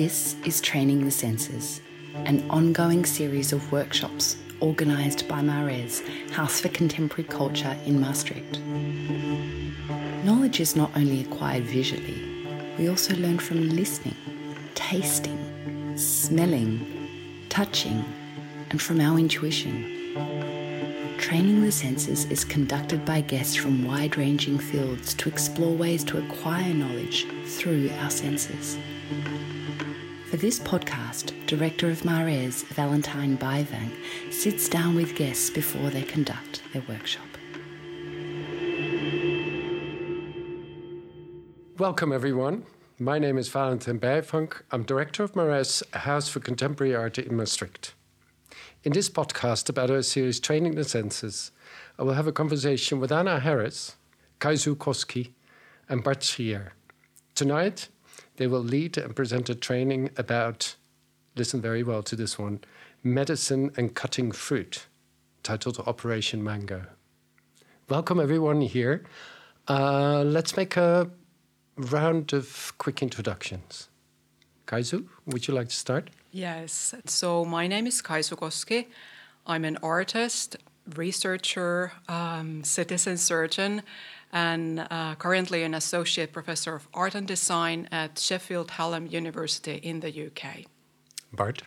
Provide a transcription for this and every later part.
This is Training the Senses, an ongoing series of workshops organised by Mares, House for Contemporary Culture in Maastricht. Knowledge is not only acquired visually, we also learn from listening, tasting, smelling, touching, and from our intuition. Training the Senses is conducted by guests from wide-ranging fields to explore ways to acquire knowledge through our senses. For this podcast, Director of Mares, Valentine Bijvang, sits down with guests before they conduct their workshop. Welcome, everyone. My name is Valentine Bijvang. I'm Director of Mares, House for Contemporary Art in Maastricht. In this podcast about our series Training the Senses, I will have a conversation with Anna Harris, Kaisu Koski, and Bart Schier. Tonight, they will lead and present a training about, listen very well to this one, medicine and cutting fruit, titled Operation Mango. Welcome everyone here. Let's make a round of quick introductions. Kaisu, would you like to start? Yes, so my name is Kaisu Koski. I'm an artist, researcher, citizen surgeon, and currently an associate professor of art and design at Sheffield Hallam University in the UK. Bart?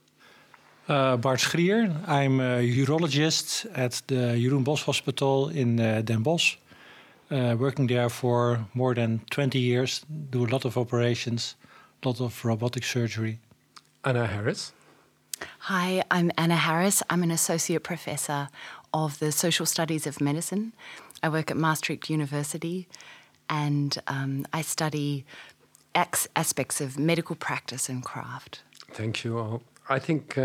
Bart Schier. I'm a urologist at the Jeroen Bosch Hospital in Den Bosch. Working there for more than 20 years, do a lot of operations, a lot of robotic surgery. Anna Harris? Hi, I'm Anna Harris. I'm an associate professor of the Social Studies of Medicine. I work at Maastricht University and I study aspects of medical practice and craft. Thank you all. I think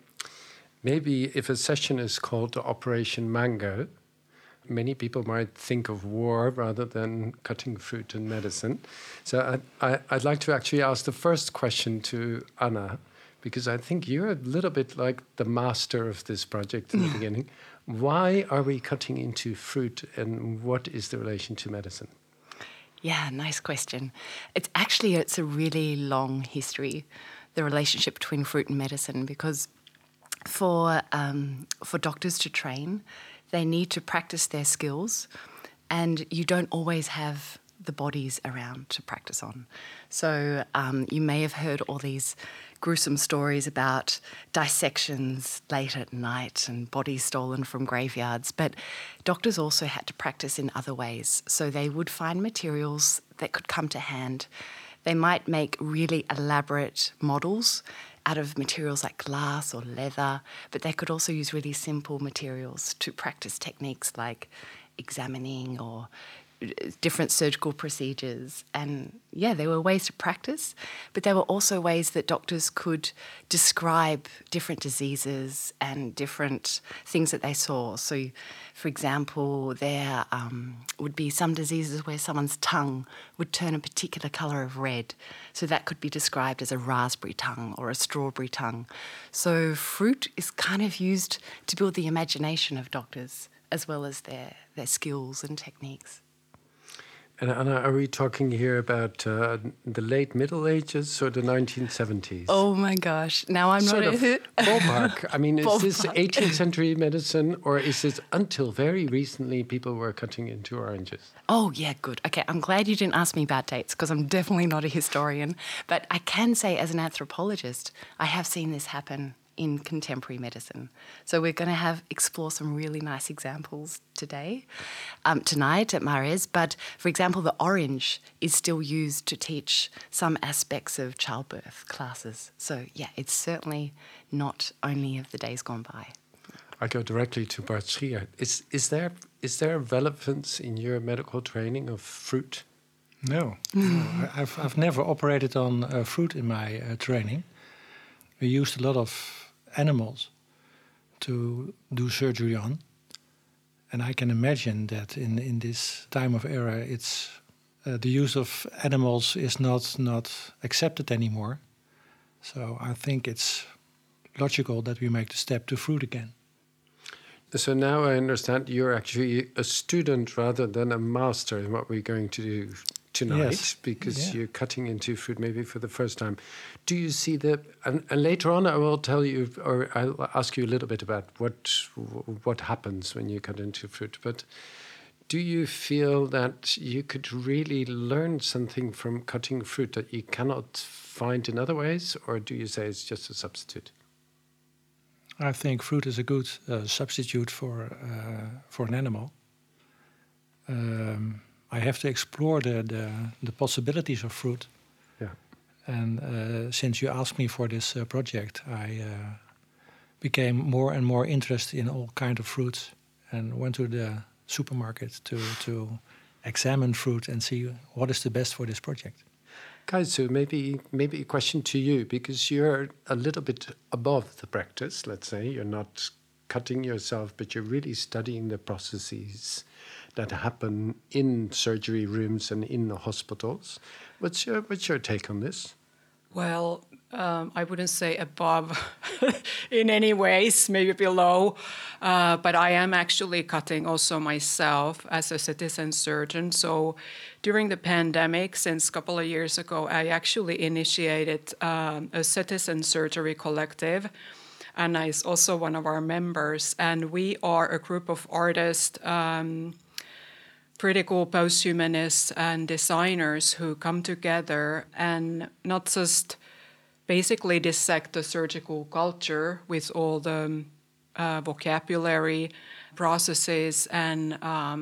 maybe if a session is called Operation Mango, many people might think of war rather than cutting fruit and medicine. So I'd like to actually ask the first question to Anna, because I think you're a little bit like the master of this project in the beginning. Why are we cutting into fruit and what is the relation to medicine? Yeah, nice question. It's a really long history, the relationship between fruit and medicine, because for doctors to train, they need to practice their skills, and you don't always have the bodies around to practice on. So you may have heard all these gruesome stories about dissections late at night and bodies stolen from graveyards, but doctors also had to practice in other ways. So they would find materials that could come to hand. They might make really elaborate models out of materials like glass or leather, but they could also use really simple materials to practice techniques like examining or different surgical procedures. And yeah, there were ways to practice, but there were also ways that doctors could describe different diseases and different things that they saw. So, for example, there would be some diseases where someone's tongue would turn a particular colour of red. So that could be described as a raspberry tongue or a strawberry tongue. So fruit is kind of used to build the imagination of doctors as well as their skills and techniques. And Anna, are we talking here about the late Middle Ages or the 1970s? Oh my gosh, now I'm sort not... of ballpark. I mean, is this 18th century medicine or is this until very recently people were cutting into oranges? Oh yeah, good. Okay, I'm glad you didn't ask me about dates because I'm definitely not a historian. But I can say as an anthropologist, I have seen this happen in contemporary medicine. So we're going to explore some really nice examples tonight at Mares. But for example, the orange is still used to teach some aspects of childbirth classes. So yeah, it's certainly not only of the days gone by. I go directly to Bart Schier. Is there a relevance in your medical training of fruit? No, I've never operated on fruit in my training. We used a lot of animals to do surgery on. And I can imagine that in this time of era, it's the use of animals is not accepted anymore. So I think it's logical that we make the step to fruit again. So now I understand you're actually a student rather than a master in what we're going to do tonight, Yes. because you're cutting into fruit maybe for the first time. Do you see and later on I will tell you, or I'll ask you a little bit about what happens when you cut into fruit, but do you feel that you could really learn something from cutting fruit that you cannot find in other ways, or do you say it's just a substitute? I think fruit is a good substitute for an animal. I have to explore the possibilities of fruit. Yeah. And since you asked me for this project, I became more and more interested in all kinds of fruits and went to the supermarket to examine fruit and see what is the best for this project. Kaisu, maybe a question to you, because you're a little bit above the practice, let's say. You're not cutting yourself, but you're really studying the processes that happen in surgery rooms and in the hospitals. What's your take on this? Well, I wouldn't say above in any ways, maybe below, but I am actually cutting also myself as a citizen surgeon. So during the pandemic, since a couple of years ago, I actually initiated a citizen surgery collective. Anna is also one of our members, and we are a group of artists, critical posthumanists and designers who come together and not just basically dissect the surgical culture with all the vocabulary, processes, and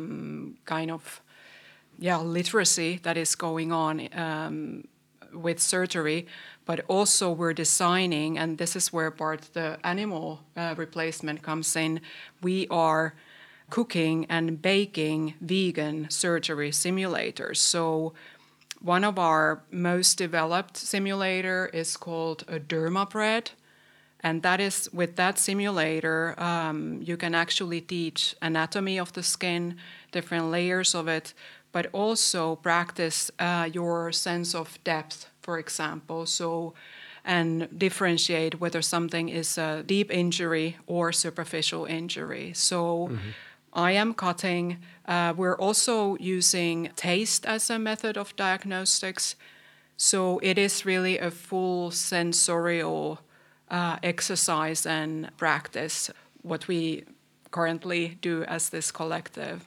literacy that is going on with surgery, but also we're designing, and this is where part the animal replacement comes in. We are cooking and baking vegan surgery simulators. So one of our most developed simulator is called a DermaBread. And that is, with that simulator, you can actually teach anatomy of the skin, different layers of it, but also practice your sense of depth, for example. So, and differentiate whether something is a deep injury or superficial injury. So I am cutting. We're also using taste as a method of diagnostics. So it is really a full sensorial exercise and practice, what we currently do as this collective.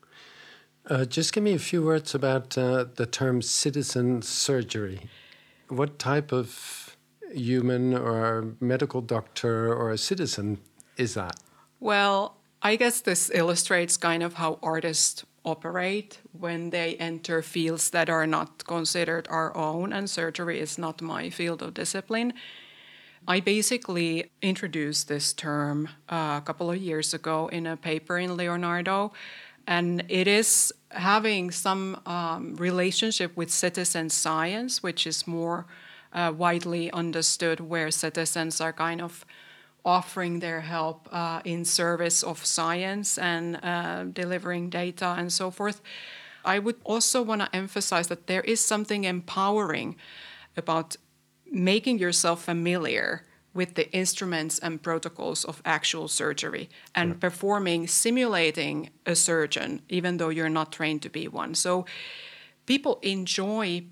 Just give me a few words about the term citizen surgery. What type of human or medical doctor or a citizen is that? Well, I guess this illustrates kind of how artists operate when they enter fields that are not considered our own, and surgery is not my field of discipline. I basically introduced this term a couple of years ago in a paper in Leonardo, and it is having some relationship with citizen science, which is more widely understood, where citizens are kind of offering their help in service of science and delivering data and so forth. I would also want to emphasize that there is something empowering about making yourself familiar with the instruments and protocols of actual surgery and simulating a surgeon, even though you're not trained to be one. So people enjoy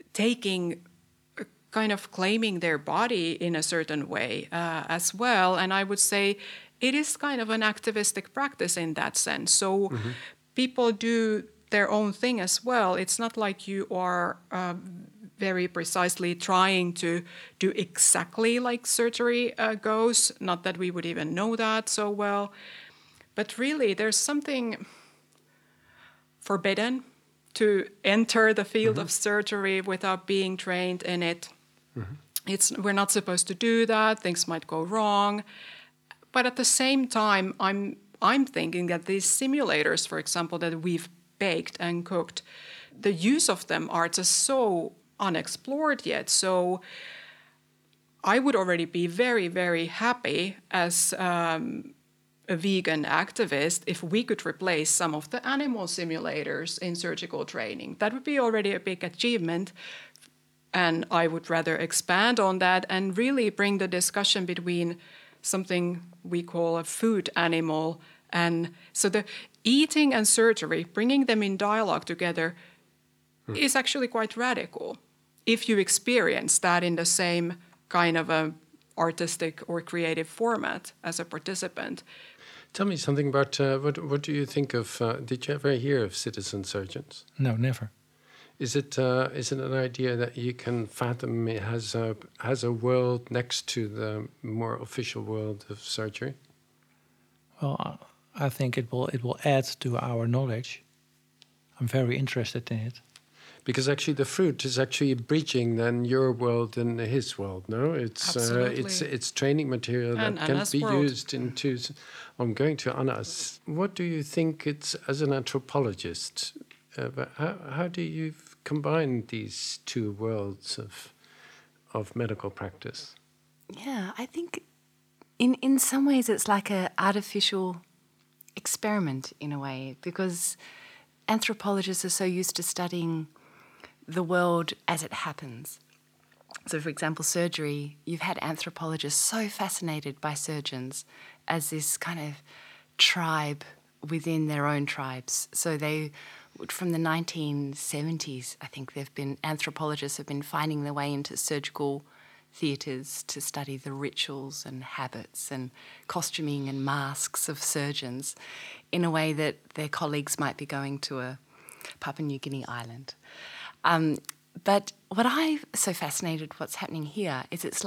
kind of claiming their body in a certain way as well. And I would say it is kind of an activistic practice in that sense. So people do their own thing as well. It's not like you are very precisely trying to do exactly like surgery goes. Not that we would even know that so well. But really, there's something forbidden to enter the field of surgery without being trained in it. We're not supposed to do that. Things might go wrong. But at the same time, I'm thinking that these simulators, for example, that we've baked and cooked, the use of them are just so unexplored yet. So I would already be very, very happy as a vegan activist if we could replace some of the animal simulators in surgical training. That would be already a big achievement. And I would rather expand on that and really bring the discussion between something we call a food animal. And so the eating and surgery, bringing them in dialogue together, is actually quite radical if you experience that in the same kind of a artistic or creative format as a participant. Tell me something about what do you think of? Did you ever hear of citizen surgeons? No, never. Is it an idea that you can fathom it has a world next to the more official world of surgery? Well, I think it will add to our knowledge. I'm very interested in it. Because actually, the fruit is actually bridging then your world and his world. No, it's training material that can Anna's be world. used into. I'm going to Anna's. What do you think it's as an anthropologist? But how do you combine these two worlds of medical practice? Yeah, I think in some ways it's like an artificial experiment in a way, because anthropologists are so used to studying the world as it happens. So, for example, surgery, you've had anthropologists so fascinated by surgeons as this kind of tribe within their own tribes. So they, from the 1970s, I think anthropologists have been finding their way into surgical theatres to study the rituals and habits and costuming and masks of surgeons in a way that their colleagues might be going to a Papua New Guinea island. But what I'm so fascinated what's happening here is it's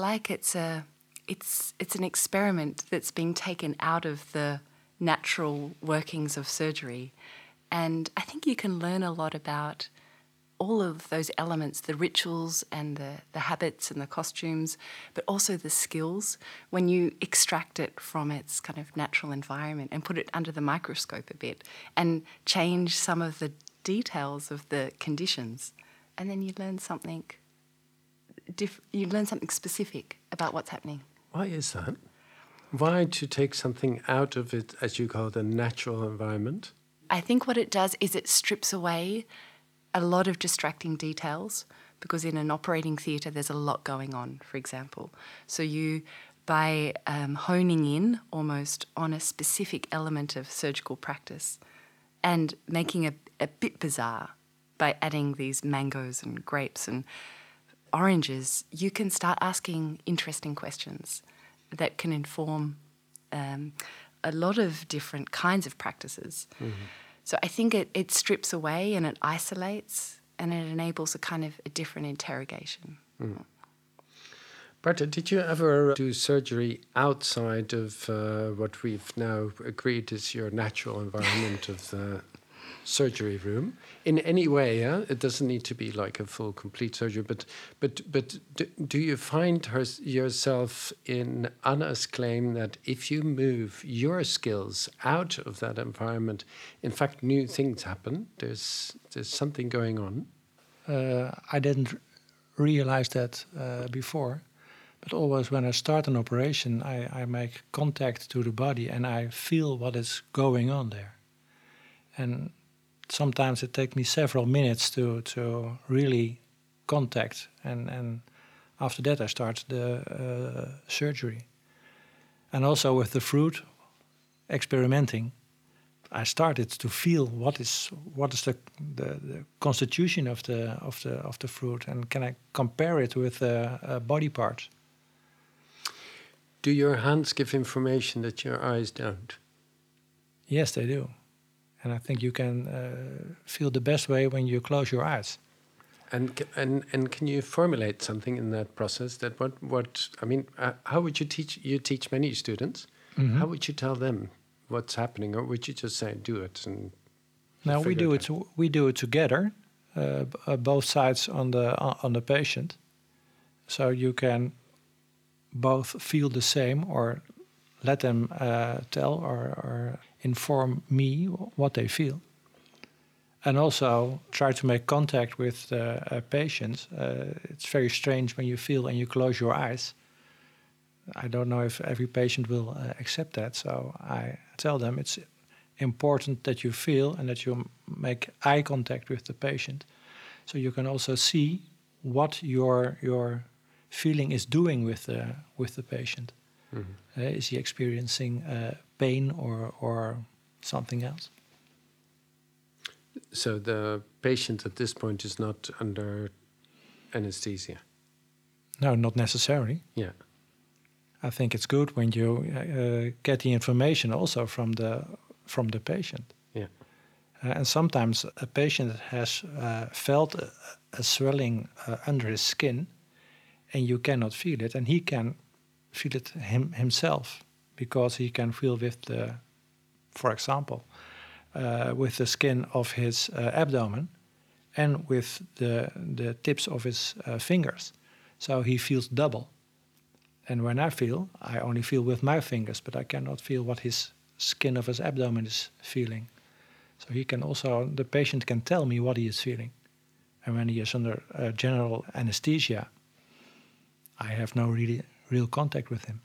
an experiment that's being taken out of the natural workings of surgery. And I think you can learn a lot about all of those elements, the rituals and the habits and the costumes, but also the skills when you extract it from its kind of natural environment and put it under the microscope a bit and change some of the details of the conditions. And then you learn something specific about what's happening. Why is that? Why to take something out of it, as you call it, a natural environment? I think what it does is it strips away a lot of distracting details, because in an operating theatre there's a lot going on, for example. So you, by honing in almost on a specific element of surgical practice and making a bit bizarre by adding these mangoes and grapes and oranges, you can start asking interesting questions that can inform a lot of different kinds of practices. Mm-hmm. So I think it strips away and it isolates and it enables a different interrogation. Mm. Berta, did you ever do surgery outside of what we've now agreed is your natural environment of the surgery room in any way? Yeah? It doesn't need to be like a full, complete surgery, but do you find yourself in Anna's claim that if you move your skills out of that environment, in fact, new things happen? There's something going on. I didn't realize that before, but always when I start an operation, I make contact to the body and I feel what is going on there. And sometimes it takes me several minutes to really contact, and after that I start the surgery. And also with the fruit, experimenting, I started to feel what is the constitution of the fruit, and can I compare it with body parts? Do your hands give information that your eyes don't? Yes, they do. And I think you can feel the best way when you close your eyes. And can you formulate something in that process? That what I mean? How would you teach? You teach many students. Mm-hmm. How would you tell them what's happening, or would you just say do it? And now we do it together, both sides on the patient, so you can both feel the same or let them tell or inform me what they feel. And also try to make contact with the patients. It's very strange when you feel and you close your eyes. I don't know if every patient will accept that. So I tell them it's important that you feel and that you make eye contact with the patient. So you can also see what your feeling is doing with the patient. Mm-hmm. Is he experiencing pain or something else? So the patient at this point is not under anesthesia? No, not necessarily. Yeah. I think it's good when you get the information also from the patient. Yeah. And sometimes a patient has felt a swelling under his skin, and you cannot feel it, and he can feel it himself, because he can feel with the, for example, with the skin of his abdomen and with the tips of his fingers. So he feels double. And when I only feel with my fingers, but I cannot feel what his skin of his abdomen is feeling. So the patient can tell me what he is feeling. And when he is under general anesthesia, I have no real contact with him.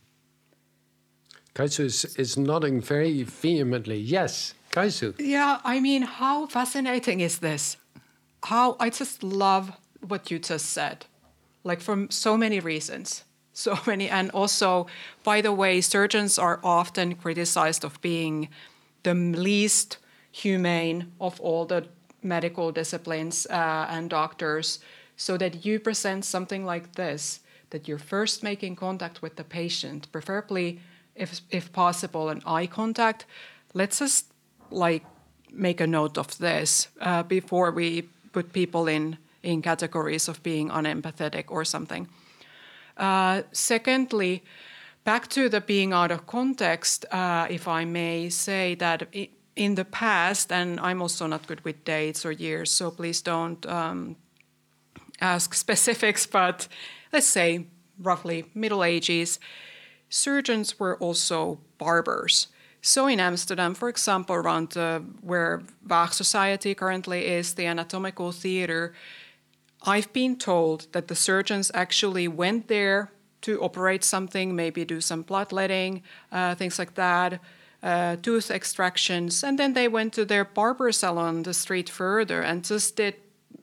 Kaisu is nodding very vehemently. Yes, Kaisu. Yeah, I mean, how fascinating is this? I just love what you just said, like for so many reasons. So many, and also, by the way, surgeons are often criticized of being the least humane of all the medical disciplines and doctors, so that you present something like this, that you're first making contact with the patient, preferably, if possible, an eye contact. Let's just make a note of this before we put people in categories of being unempathetic or something. Secondly, back to the being out of context, if I may say that in the past, and I'm also not good with dates or years, so please don't ask specifics, but let's say roughly Middle Ages, surgeons were also barbers. So in Amsterdam, for example, around where Waag Society currently is, the anatomical theater, I've been told that the surgeons actually went there to operate something, maybe do some bloodletting, things like that, tooth extractions, and then they went to their barber salon the street further and just did,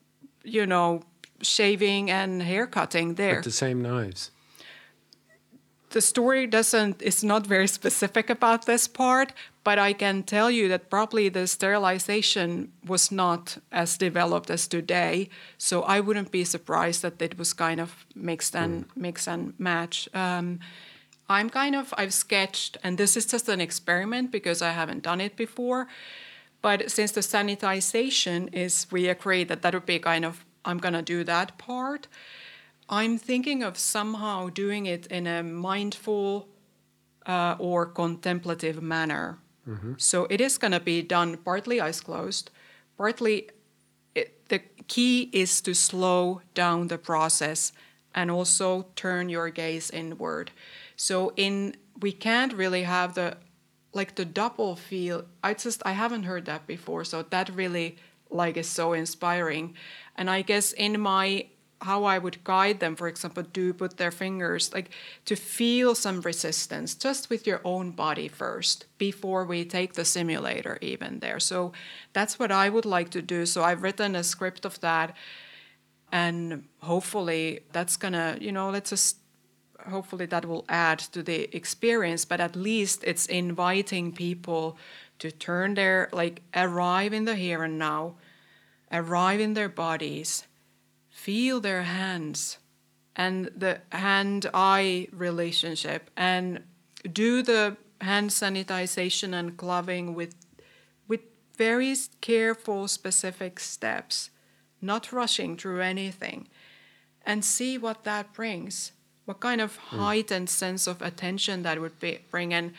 shaving and hair cutting there. With the same knives. The story is not very specific about this part, but I can tell you that probably the sterilization was not as developed as today. So I wouldn't be surprised that it was kind of mix and match. I've sketched, and this is just an experiment because I haven't done it before. But since the sanitization we agree that would be I'm going to do that part. I'm thinking of somehow doing it in a mindful or contemplative manner. Mm-hmm. So it is going to be done partly eyes closed, partly the key is to slow down the process and also turn your gaze inward. So we can't really have the double feel. I haven't heard that before, so that really is so inspiring. And I guess how I would guide them, for example, do put their fingers, to feel some resistance just with your own body first before we take the simulator even there. So that's what I would like to do. So I've written a script of that, and hopefully that's gonna, hopefully that will add to the experience, but at least it's inviting people to turn arrive in the here and now, arrive in their bodies, feel their hands and the hand-eye relationship, and do the hand sanitization and gloving with very careful, specific steps, not rushing through anything, and see what that brings, what kind of heightened sense of attention that would bring. And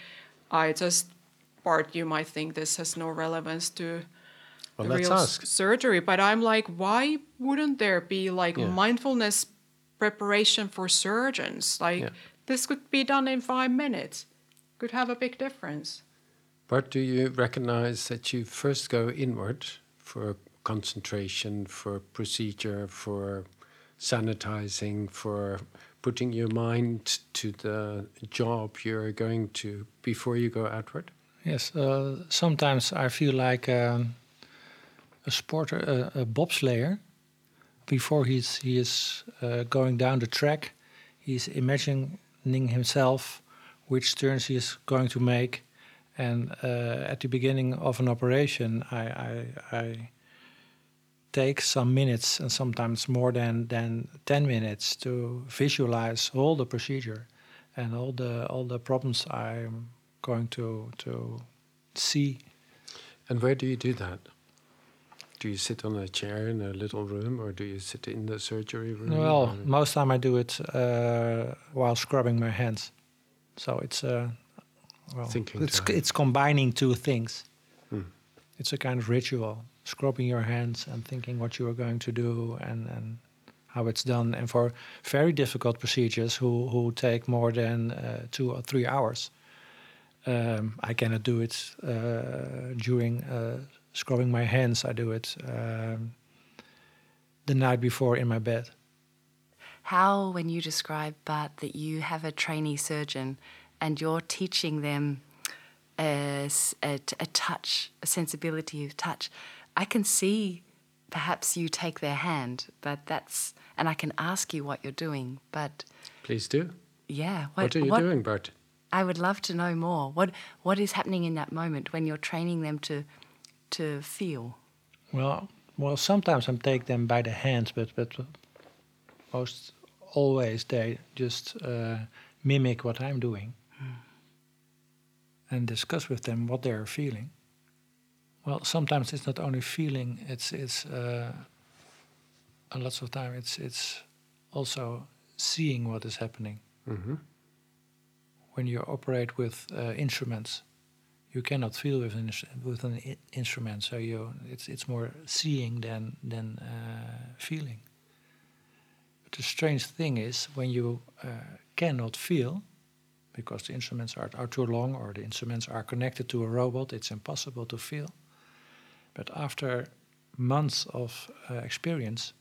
you might think this has no relevance to real surgery, but I'm why wouldn't there be mindfulness preparation for surgeons? This could be done in 5 minutes, could have a big difference. But do you recognize that you first go inward for concentration, for procedure, for sanitizing, for putting your mind to the job you're going to before you go outward? Yes, sometimes I feel like a sporter, a bobslayer. Before he is going down the track, he's imagining himself which turns he is going to make. And at the beginning of an operation, I takes some minutes and sometimes more than 10 minutes to visualize all the procedure and all the problems I'm going to see. And where do you do that? Do you sit on a chair in a little room, or do you sit in the surgery room? Well, most time I do it while scrubbing my hands. So it's it's combining two things. It's a kind of ritual, scrubbing your hands and thinking what you are going to do and how it's done. And for very difficult procedures who take more than 2 or 3 hours, I cannot do it during scrubbing my hands. I do it the night before in my bed. How, when you describe, Bart, that you have a trainee surgeon and you're teaching them a touch, a sensibility of touch, I can see perhaps you take their hand, but and I can ask you what you're doing, but... Please do. Yeah. What are you doing, Bart? I would love to know more. What is happening in that moment when you're training them to feel? Well, sometimes I take them by the hand, but most always they just mimic what I'm doing and discuss with them what they're feeling. Well, sometimes it's not only feeling; it's a lot of time it's also seeing what is happening. Mm-hmm. When you operate with instruments, you cannot feel with an instrument, so it's more seeing than feeling. But the strange thing is when you cannot feel, because the instruments are too long or the instruments are connected to a robot, it's impossible to feel. But after months of experience,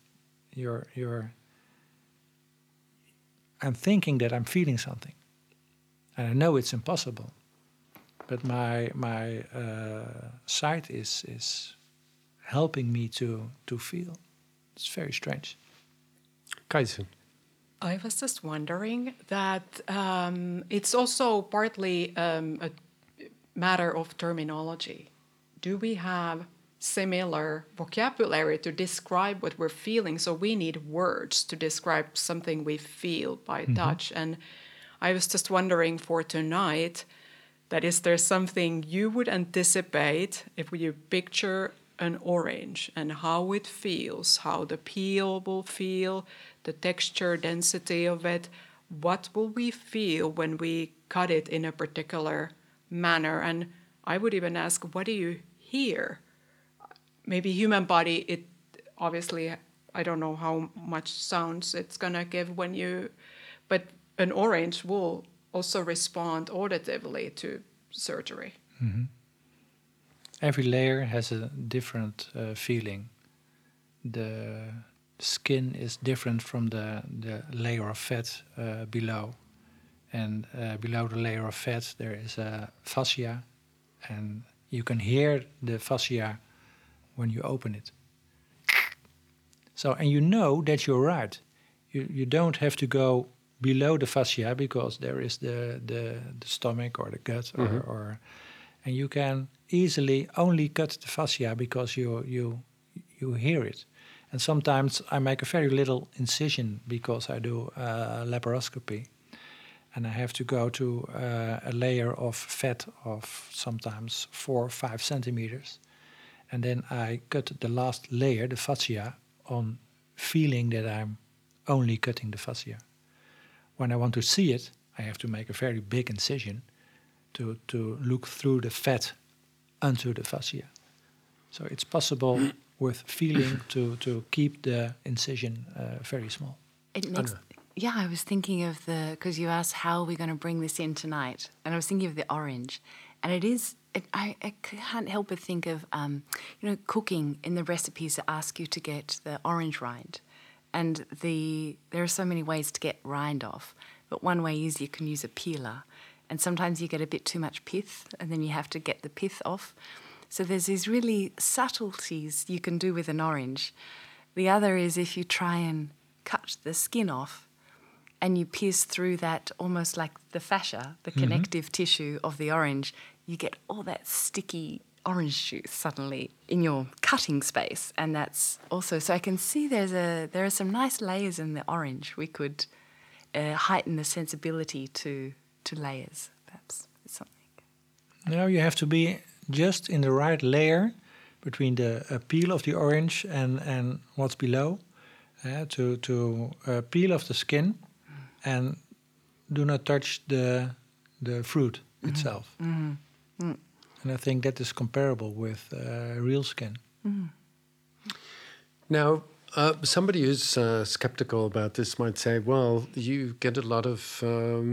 I'm thinking that I'm feeling something, and I know it's impossible. But my sight is helping me to feel. It's very strange. Kaisun. I was just wondering that it's also partly a matter of terminology. Do we have similar vocabulary to describe what we're feeling? So we need words to describe something we feel by touch. And I was just wondering for tonight, that is there something you would anticipate if you picture an orange and how it feels, how the peel will feel, the texture, density of it? What will we feel when we cut it in a particular manner? And I would even ask, what do you hear? Maybe human body, it obviously, I don't know how much sounds it's going to give when you, but an orange will also respond auditively to surgery. Mm-hmm. Every layer has a different feeling. The skin is different from the layer of fat below. And below the layer of fat there is a fascia, and you can hear the fascia when you open it. So, and you know that you're right. You don't have to go below the fascia because there is the stomach or the gut or and you can easily only cut the fascia because you hear it. And sometimes I make a very little incision because I do laparoscopy, and I have to go to a layer of fat of sometimes 4 or 5 centimeters, and then I cut the last layer, the fascia, on feeling that I'm only cutting the fascia. When I want to see it, I have to make a very big incision to look through the fat onto the fascia. So it's possible with feeling to keep the incision very small. It makes, I was thinking of because you asked how are we going to bring this in tonight, and I was thinking of the orange, and I can't help but think of cooking. In the recipes that ask you to get the orange rind, and there are so many ways to get rind off, but one way is you can use a peeler, and sometimes you get a bit too much pith, and then you have to get the pith off. So there's these really subtleties you can do with an orange. The other is if you try and cut the skin off and you pierce through that almost like the fascia, the connective tissue of the orange, you get all that sticky orange juice suddenly in your cutting space, and that's also so I can see there are some nice layers in the orange. We could heighten the sensibility to layers, perhaps something. Now you have to be just in the right layer between the peel of the orange and what's below, to peel off the skin and do not touch the fruit itself. And I think that is comparable with real skin. Now, somebody who's skeptical about this might say, well, you get a lot of,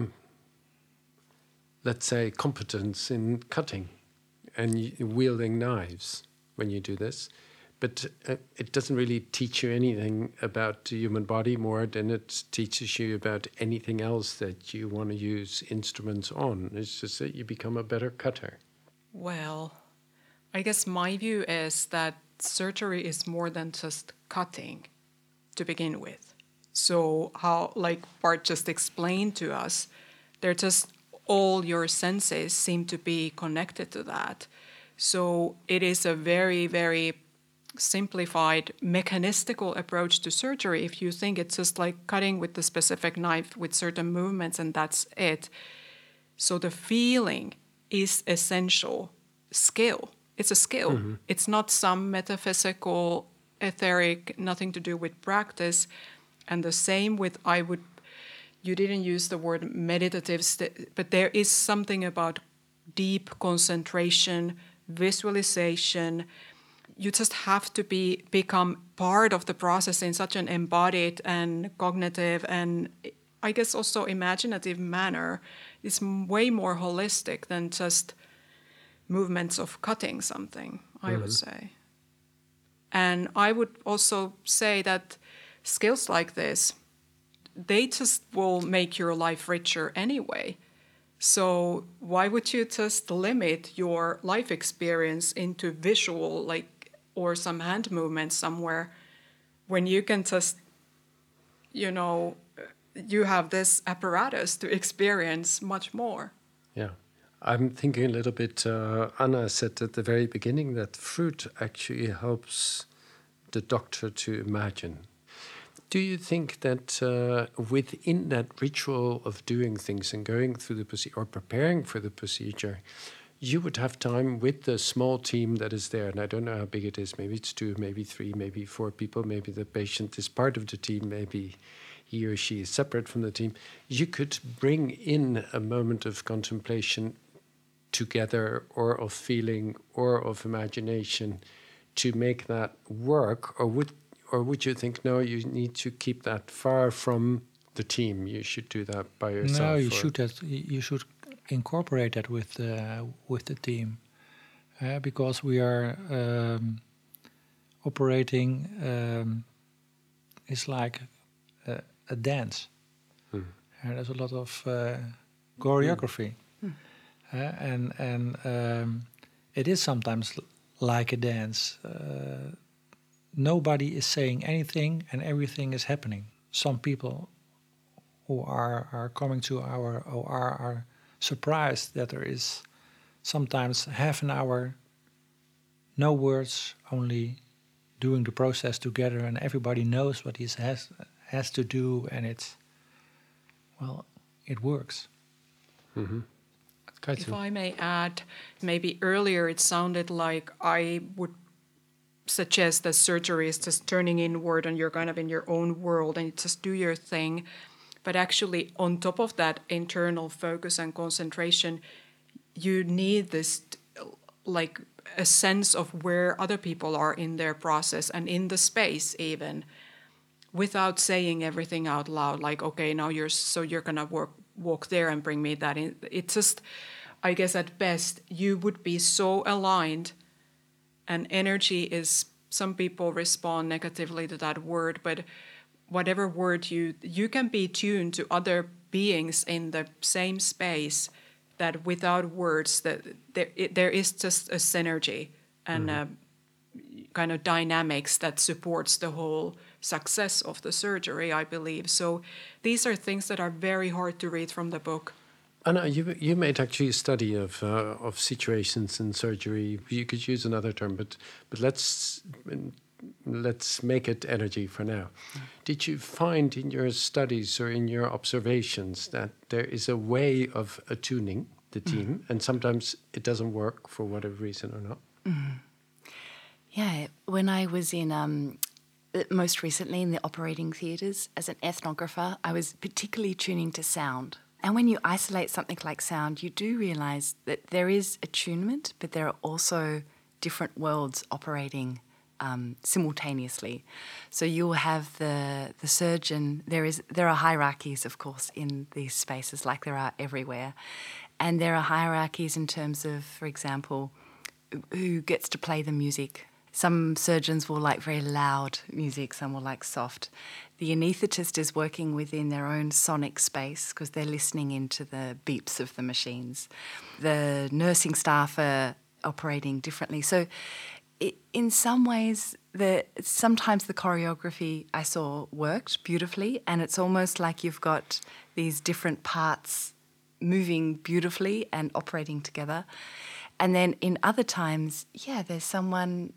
let's say, competence in cutting and wielding knives when you do this. But it doesn't really teach you anything about the human body more than it teaches you about anything else that you want to use instruments on. It's just that you become a better cutter. Well, I guess my view is that surgery is more than just cutting to begin with. So how, like Bart just explained to us, they're just all your senses seem to be connected to that. So it is a very, very simplified mechanistical approach to surgery if you think it's just like cutting with the specific knife with certain movements and that's it. So the feeling is essential skill. It's a skill. Mm-hmm. It's not some metaphysical, etheric, nothing to do with practice. And the same with, you didn't use the word meditative, but there is something about deep concentration, visualization. You just have to become part of the process in such an embodied and cognitive and I guess also imaginative manner. It's way more holistic than just movements of cutting something, I would say. And I would also say that skills like this, they just will make your life richer anyway. So why would you just limit your life experience into visual, or some hand movements somewhere, when you can just, you have this apparatus to experience much more. Yeah. I'm thinking a little bit, Anna said at the very beginning that fruit actually helps the doctor to imagine. Do you think that within that ritual of doing things and going through the procedure or preparing for the procedure, you would have time with the small team that is there? And I don't know how big it is. Maybe it's 2, maybe 3, maybe 4 people. Maybe the patient is part of the team. Maybe he or she is separate from the team. You could bring in a moment of contemplation together, or of feeling, or of imagination, to make that work. Or would you think, no, you need to keep that far from the team? You should do that by yourself. No, you should incorporate that with the team, because we are operating. It's like a dance. There's a lot of choreography, and it is sometimes like a dance. Nobody is saying anything, and everything is happening. Some people who are coming to our OR are surprised that there is sometimes half an hour, no words, only doing the process together, and everybody knows what he has to do, and it works. Mm-hmm. If I may add, maybe earlier it sounded like I would suggest that surgery is just turning inward and you're kind of in your own world and you just do your thing. But actually, on top of that internal focus and concentration, you need this, like a sense of where other people are in their process and in the space even, without saying everything out loud, like, okay, now you're going to walk there and bring me that in. It's just, I guess at best, you would be so aligned, and energy is, some people respond negatively to that word, but whatever word you can be tuned to other beings in the same space, that without words, that there is just a synergy and a kind of dynamics that supports the whole success of the surgery, I believe. So these are things that are very hard to read from the book. Anna, you made actually a study of situations in surgery. You could use another term, but let's make it energy for now. Did you find in your studies or in your observations that there is a way of attuning the team, and sometimes it doesn't work for whatever reason or not? Yeah, when I was in most recently in the operating theatres as an ethnographer, I was particularly tuning to sound. And when you isolate something like sound, you do realise that there is attunement, but there are also different worlds operating simultaneously. So you'll have the surgeon. There are hierarchies, of course, in these spaces, like there are everywhere, and there are hierarchies in terms of, for example, who gets to play the music. Some surgeons will like very loud music, some will like soft. The anaesthetist is working within their own sonic space because they're listening into the beeps of the machines. The nursing staff are operating differently. So in some ways, sometimes the choreography I saw worked beautifully, and it's almost like you've got these different parts moving beautifully and operating together. And then in other times, there's someone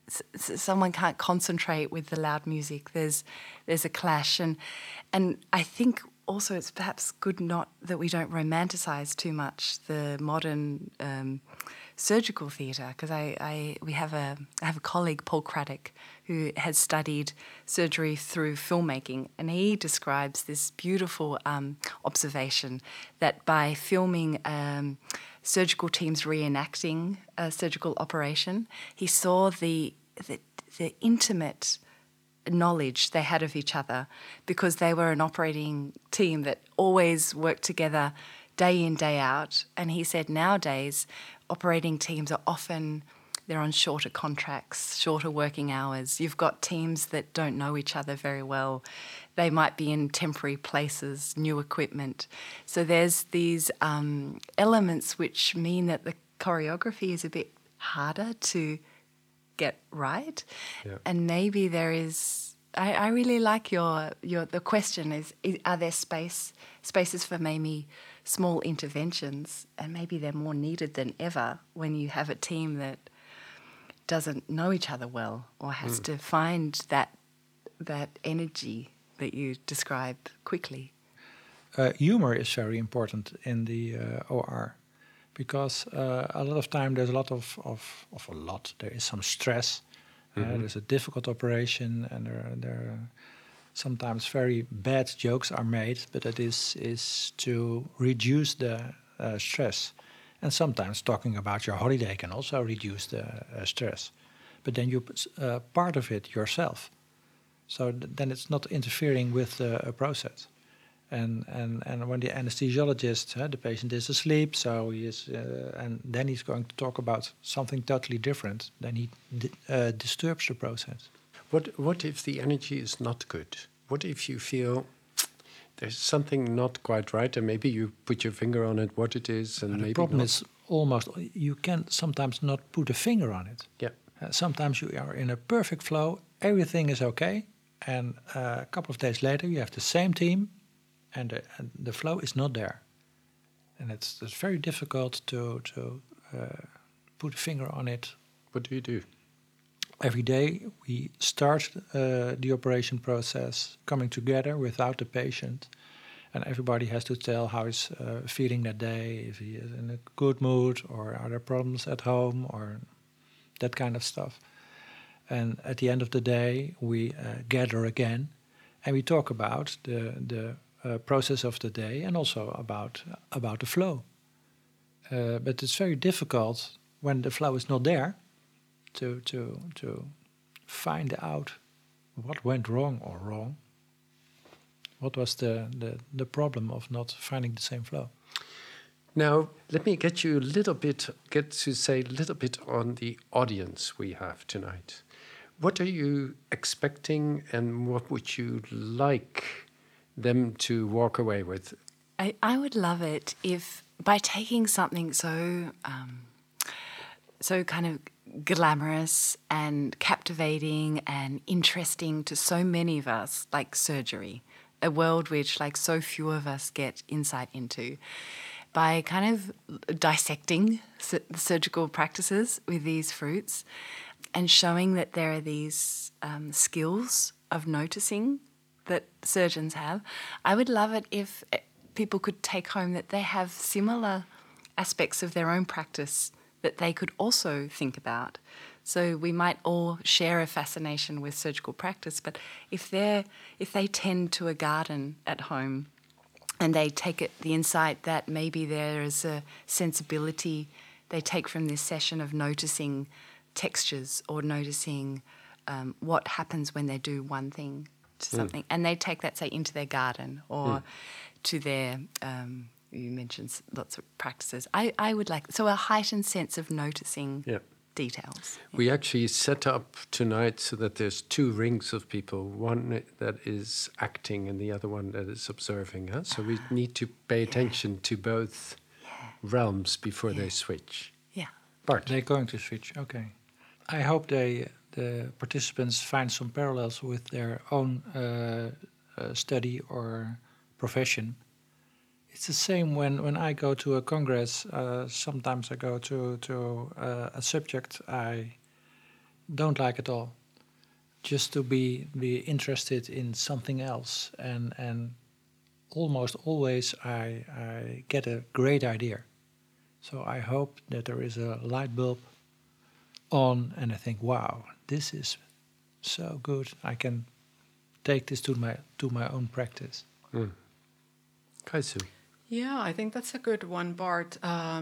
can't concentrate with the loud music. There's a clash, and I think also it's perhaps good not that we don't romanticize too much the modern surgical theatre, because I have a colleague, Paul Craddock, who has studied surgery through filmmaking, and he describes this beautiful observation that by filming surgical teams reenacting a surgical operation, he saw the intimate knowledge they had of each other because they were an operating team that always worked together day in, day out. And he said nowadays operating teams are often, they're on shorter contracts, shorter working hours. You've got teams that don't know each other very well. They might be in temporary places, new equipment. So there's these elements which mean that the choreography is a bit harder to get right. Yeah. And maybe there is, I really like the question is are there spaces for maybe small interventions, and maybe they're more needed than ever when you have a team that doesn't know each other well or has to find that energy that you describe quickly. Humor is very important in the OR because a lot of time there's there is some stress. There's a difficult operation, and there are sometimes very bad jokes are made, but it is to reduce the stress. And sometimes talking about your holiday can also reduce the stress. But then you part of it yourself. So then it's not interfering with the process. And when the anesthesiologist, the patient is asleep, so he is, and then he's going to talk about something totally different, then he disturbs the process. What if the energy is not good? What if you feel there's something not quite right, and maybe you put your finger on it, what it is, and maybe the problem not. is almost you can sometimes not put a finger on it. Yeah. Sometimes you are in a perfect flow, everything is okay, and a couple of days later you have the same team, and the flow is not there, and it's very difficult to put a finger on it. What do you do? Every day we start the operation process coming together without the patient, and everybody has to tell how he's feeling that day, if he is in a good mood or are there problems at home or that kind of stuff. And at the end of the day we gather again and we talk about the process of the day and also about the flow. But it's very difficult when the flow is not there to find out what went wrong or wrong. What was the problem of not finding the same flow? Now, let me get to say a little bit on the audience we have tonight. What are you expecting, and what would you like them to walk away with? I would love it if, by taking something so kind of glamorous and captivating and interesting to so many of us, like surgery, a world which like so few of us get insight into, by kind of dissecting surgical practices with these fruits and showing that there are these skills of noticing that surgeons have. I would love it if people could take home that they have similar aspects of their own practice that they could also think about. So we might all share a fascination with surgical practice, but if they tend to a garden at home and they take the insight that maybe there is a sensibility they take from this session of noticing textures or noticing what happens when they do one thing to something, and they take that, say, into their garden or to their, you mentioned lots of practices. I would like, so a heightened sense of noticing details. We actually set up tonight so that there's two rings of people, one that is acting and the other one that is observing. Huh? So we need to pay attention to both realms before they switch. Yeah. Bart. They're going to switch, okay. I hope the participants find some parallels with their own study or profession. It's the same when I go to a congress. Sometimes I go to a subject I don't like at all, just to be interested in something else. And almost always I get a great idea. So I hope that there is a light bulb on and I think, wow, this is so good. I can take this to my own practice. Kaisu. Yeah, I think that's a good one, Bart.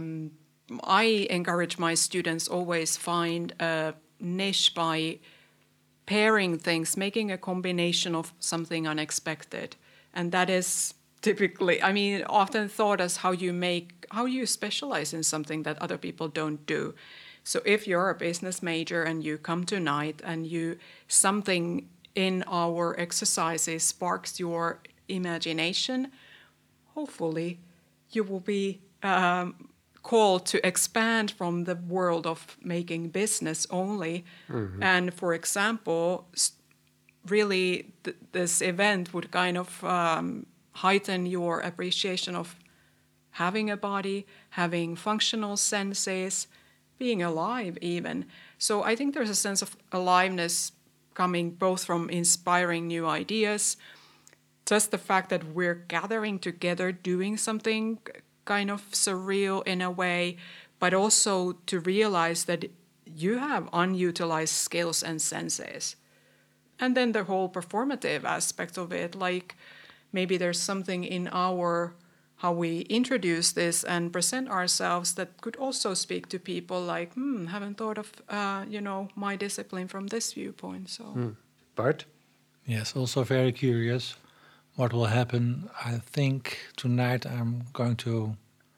I encourage my students always find a niche by pairing things, making a combination of something unexpected. And that is typically, often thought as how you specialize in something that other people don't do. So if you're a business major and you come tonight and something in our exercises sparks your imagination, hopefully you will be called to expand from the world of making business only. Mm-hmm. And for example, really this event would kind of heighten your appreciation of having a body, having functional senses, being alive even. So I think there's a sense of aliveness coming both from inspiring new ideas, just the fact that we're gathering together, doing something kind of surreal in a way, but also to realize that you have unutilized skills and senses. And then the whole performative aspect of it, like maybe there's something in how we introduce this and present ourselves that could also speak to people like, haven't thought of, my discipline from this viewpoint. So, Bart? Yes, also very curious what will happen. I think tonight I'm going to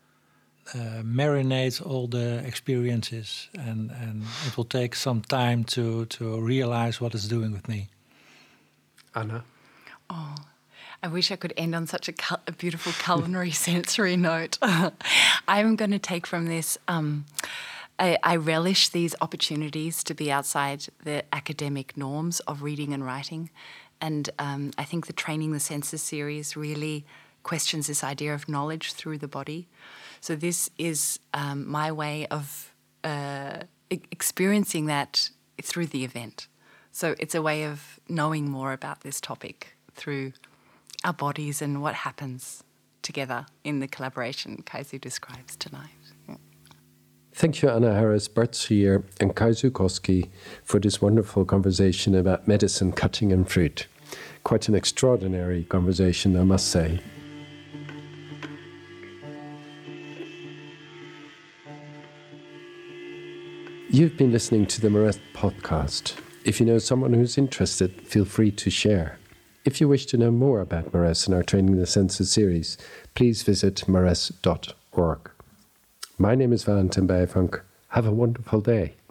marinate all the experiences and it will take some time to realize what it's doing with me. Anna? Oh, I wish I could end on such a beautiful culinary sensory note. I'm going to take from this, I relish these opportunities to be outside the academic norms of reading and writing. And I think the Training the Senses series really questions this idea of knowledge through the body. So this is my way of experiencing that through the event. So it's a way of knowing more about this topic through our bodies and what happens together in the collaboration Kaisu describes tonight. Yeah. Thank you, Anna Harris, Bart Schrier, and Kaisu Koski for this wonderful conversation about medicine, cutting and fruit. Quite an extraordinary conversation, I must say. You've been listening to the Maresse podcast. If you know someone who's interested, feel free to share. If you wish to know more about Maresse and our Training the Senses series, please visit maresse.org. My name is Valentin Bijvank. Have a wonderful day.